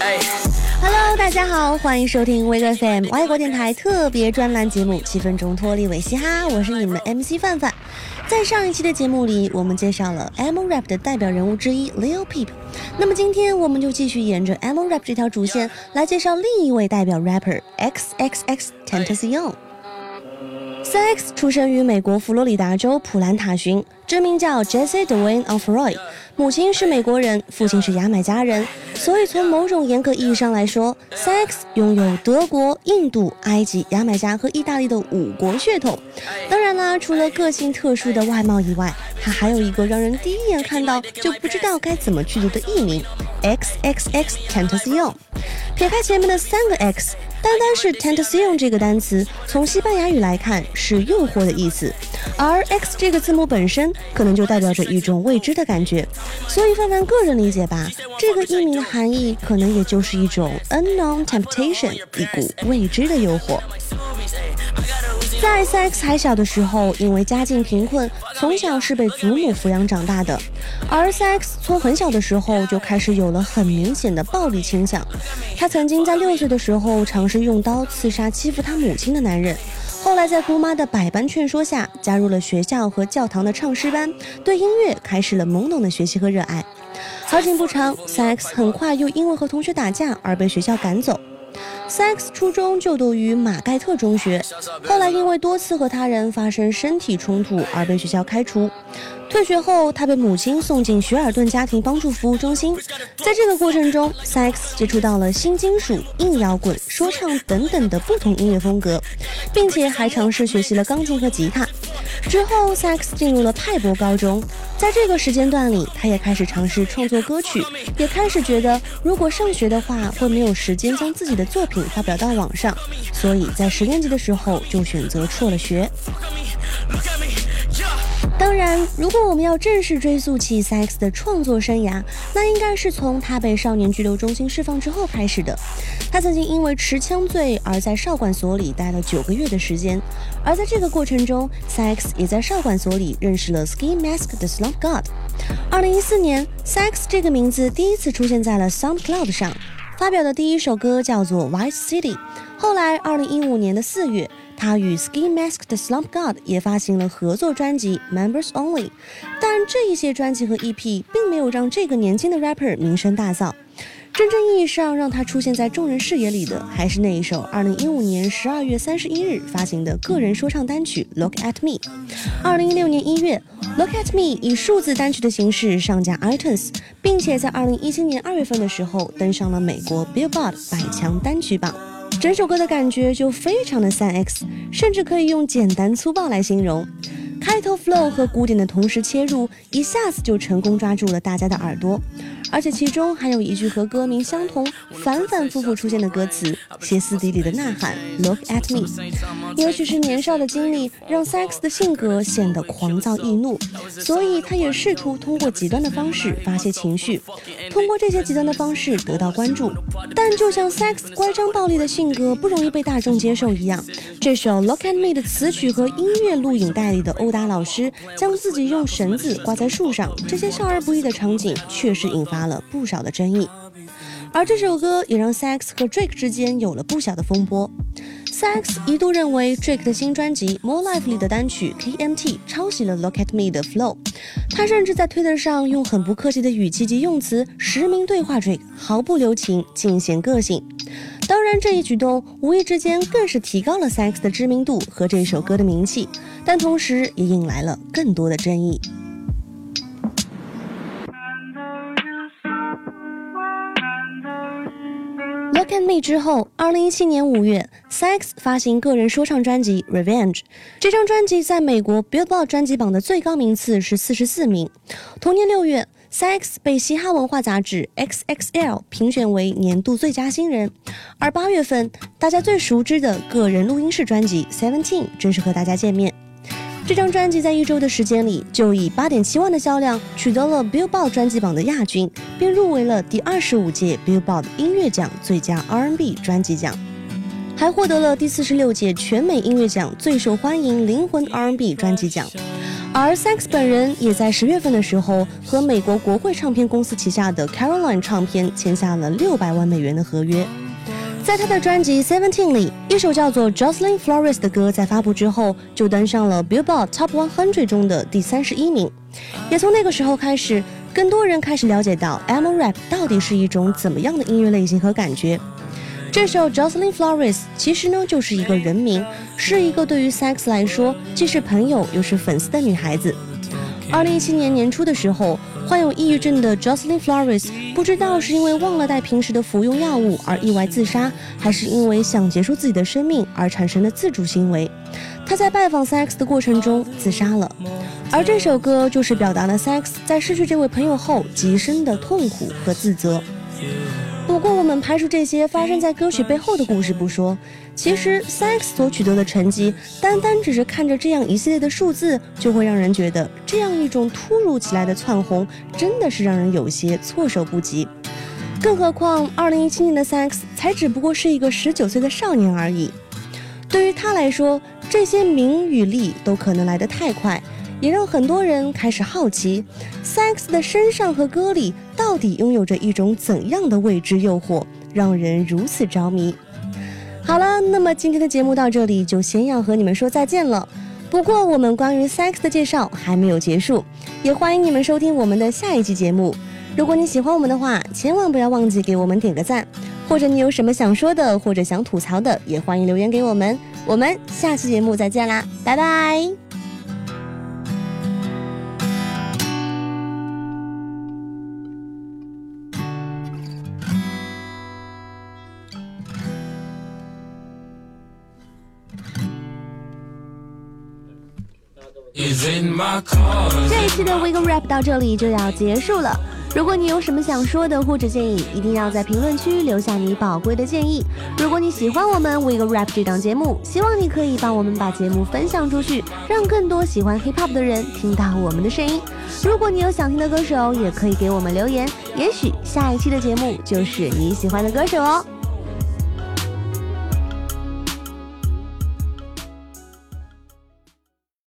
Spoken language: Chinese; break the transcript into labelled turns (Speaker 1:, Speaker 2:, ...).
Speaker 1: Hello， 大家好，欢迎收听 Wake FM 外国电台特别专栏节目《7分钟脱离伪嘻哈》，我是你们的 MC 范范。在上一期的节目里，我们介绍了 Emo Rap 的代表人物之一 Lil Peep。那么今天我们就继续沿着 Emo Rap 这条主线来介绍另一位代表 rapper XXX-Tentacion。3X 出生于美国佛罗里达州普兰塔逊，真名叫 Jesse Dwayne Alfroy， 母亲是美国人，父亲是牙买加人，所以从某种严格意义上来说 3X 拥有德国、印度、埃及、牙买加和意大利的5国血统。当然啦，除了个性特殊的外貌以外，他还有一个让人第一眼看到就不知道该怎么去读的艺名 XXX-Tentacion。 撇开前面的3个 X，单单是 Tentacion 这个单词，从西班牙语来看是诱惑的意思，而 X 这个字母本身可能就代表着一种未知的感觉，所以范范个人理解吧，这个艺名的含义可能也就是一种 unknown temptation， 一股未知的诱惑。在 3X 还小的时候，因为家境贫困，从小是被祖母抚养长大的，而 3X 从很小的时候就开始有了很明显的暴力倾向。他曾经在6岁的时候尝试用刀刺杀欺负他母亲的男人，后来在姑妈的百般劝说下，加入了学校和教堂的唱诗班，对音乐开始了懵懂的学习和热爱。好景不长， 3X 很快又因为和同学打架而被学校赶走。3X 初中就读于马盖特中学，后来因为多次和他人发生身体冲突而被学校开除。退学后，他被母亲送进雪尔顿家庭帮助服务中心。在这个过程中， 3X 接触到了新金属、硬摇滚、说唱等等的不同音乐风格，并且还尝试学习了钢琴和吉他。之后 3X 进入了派博高中，在这个时间段里，他也开始尝试创作歌曲，也开始觉得如果上学的话会没有时间将自己的作品发表到网上，所以在10年级的时候就选择辍了学。当然，如果我们要正式追溯起 3X 的创作生涯，那应该是从他被少年拘留中心释放之后开始的。他曾经因为持枪罪而在少管所里待了9个月的时间，而在这个过程中 3X 也在少管所里认识了 Ski Mask the Slump God。 2014年 3X 这个名字第一次出现在了 SoundCloud 上，发表的第一首歌叫做 White City。 后来2015年的4月，他与 Ski Mask the Slump God 也发行了合作专辑 Members Only， 但这一些专辑和 EP 并没有让这个年轻的 rapper 名声大噪。真正意义上让他出现在众人视野里的，还是那一首2015年12月31日发行的个人说唱单曲 Look at Me。 2016年1月 Look at Me 以数字单曲的形式上架 iTunes， 并且在2017年2月份的时候登上了美国 Billboard 100强单曲榜。整首歌的感觉就非常的 3X， 甚至可以用简单粗暴来形容。开头 flow 和鼓点的同时切入，一下子就成功抓住了大家的耳朵，而且其中还有一句和歌名相同、反反复复出现的歌词，歇斯底里的呐喊 Look at me。 也许是年少的经历让 3X 的性格显得狂躁易怒，所以他也试图通过极端的方式发泄情绪，通过这些极端的方式得到关注。但就像 3X 乖张暴力的性格不容易被大众接受一样，这首 Look at me 的词曲和音乐录影带里的殴打老师将自己用绳子挂在树上，这些笑而不义的场景确实引发了不少的争议。而这首歌也让 3X 和 Drake 之间有了不小的风波。3X 一度认为 Drake 的新专辑 More Life 里的单曲 KMT 抄袭了 Look at Me 的 flow， 他甚至在 Twitter 上用很不客气的语气及用词实名对话 Drake， 毫不留情，尽显个性。当然，这一举动无意之间更是提高了 3X 的知名度和这首歌的名气，但同时也引来了更多的争议。Look at Me 之后，2017年5月 3X 发行个人说唱专辑 Revenge。 这张专辑在美国 Billboard 专辑榜的最高名次是44名。同年6月，3X 被嘻哈文化杂志 XXL 评选为年度最佳新人，而8月份大家最熟知的个人录音室专辑 17正式和大家见面。这张专辑在1周的时间里就以 8.7 万的销量取得了 Billboard 专辑榜的亚军，并入围了第25届 Billboard 音乐奖最佳 R&B 专辑奖，还获得了第46届全美音乐奖最受欢迎灵魂 R&B 专辑奖。 而 Sykes 本人也在10月份的时候和美国国会唱片公司旗下的 Caroline 唱片签下了$600万的合约。在他的专辑 Seventeen 里，一首叫做 Jocelyn Flores 的歌在发布之后就登上了 Billboard Top 100中的第31名。也从那个时候开始，更多人开始了解到 emo rap 到底是一种怎么样的音乐类型和感觉。这首 Jocelyn Flores 其实呢就是一个人名，是一个对于 Sykes 来说既是朋友又是粉丝的女孩子。2017年年初的时候，患有抑郁症的 Jocelyn Flores 不知道是因为忘了带平时的服用药物而意外自杀，还是因为想结束自己的生命而产生的自主行为。他在拜访 Sykes 的过程中自杀了，而这首歌就是表达了 Sykes 在失去这位朋友后极深的痛苦和自责。不过我们排除这些发生在歌曲背后的故事不说，其实 Sykes 所取得的成绩，单单只是看着这样一系列的数字，就会让人觉得这样一种突如其来的窜红真的是让人有些措手不及。更何况2017年的 Sykes 才只不过是一个19岁的少年而已。对于他来说，这些名与利都可能来得太快，也让很多人开始好奇 Sykes 的身上和歌里到底拥有着一种怎样的未知诱惑，让人如此着迷。好了，那么今天的节目到这里就先要和你们说再见了。不过我们关于 Sykes 的介绍还没有结束，也欢迎你们收听我们的下一期节目。如果你喜欢我们的话，千万不要忘记给我们点个赞，或者你有什么想说的或者想吐槽的，也欢迎留言给我们。我们下期节目再见啦，拜拜。这一期的 Wiggle Rap 到这里就要结束了。如果你有什么想说的或者建议，一定要在评论区留下你宝贵的建议。如果你喜欢我们 Wiggle Rap 这档节目，希望你可以帮我们把节目分享出去，让更多喜欢 Hip Hop 的人听到我们的声音。如果你有想听的歌手，也可以给我们留言，也许下一期的节目就是你喜欢的歌手哦。